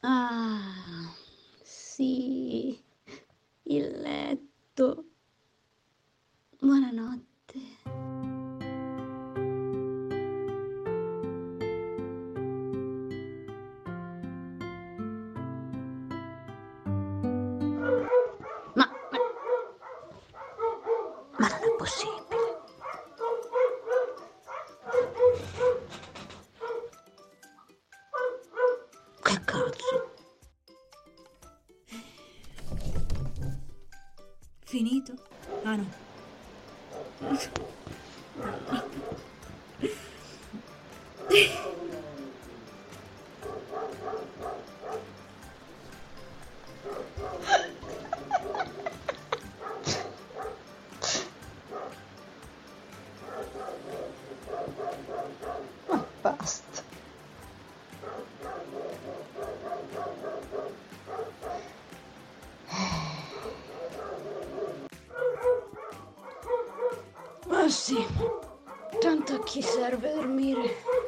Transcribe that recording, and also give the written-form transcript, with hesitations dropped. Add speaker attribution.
Speaker 1: Ah, sì, il letto. Buonanotte. Ma ma non è possibile. Che cazzo?
Speaker 2: Finito? Ah no.
Speaker 3: Ma basta.
Speaker 1: Ma sì, tanto a chi serve dormire?